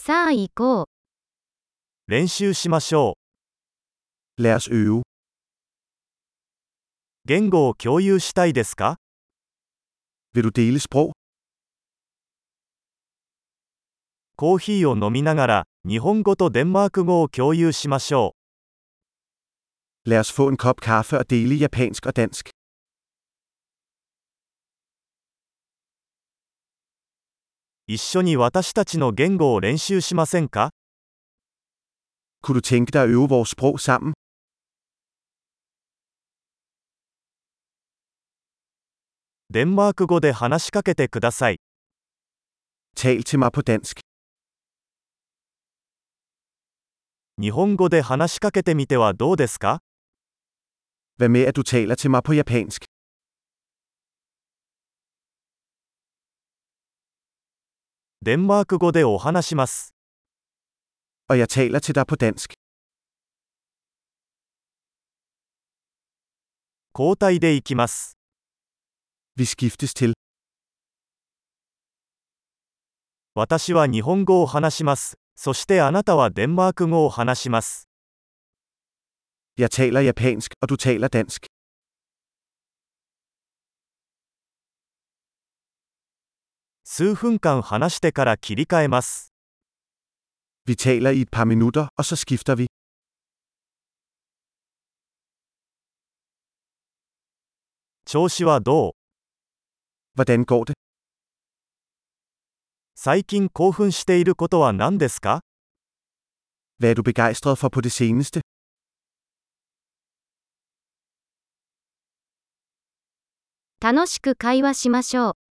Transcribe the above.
さあ行こう。 練習しましょう。 Lad os øve. 言語を共有したいですか？ Vil du dele sprog? コーヒーを飲みながら、日本語とデンマーク語を共有しましょ Lad os få en kop kaffe og dele japansk og dansk. う。一緒に私たちの言語を練習しませんか？ Kunne du tænke dig at øve vores sprog sammen? デンマーク語で話しかけてください。 Tal til mig på dansk. 日本語で話しかけてみてはどうですか？ Hvad med at du taler til mig på japansk? デンマーク語でお話します。 Og jeg taler til dig på dansk. 交代で行きます。 Vi skiftes til. 私は日本語を話します。そしてあなたはデンマーク語を話します。 Jeg taler japansk, og du taler dansk. 数分間話してから切り替えます。 Vi taler i et par minutter, og så skifter vi. 調子はどう？ Hvordan går det? 最近興奮していることは何ですか？ Hvad er du begejstret for på det seneste? 楽しく会話しましょう。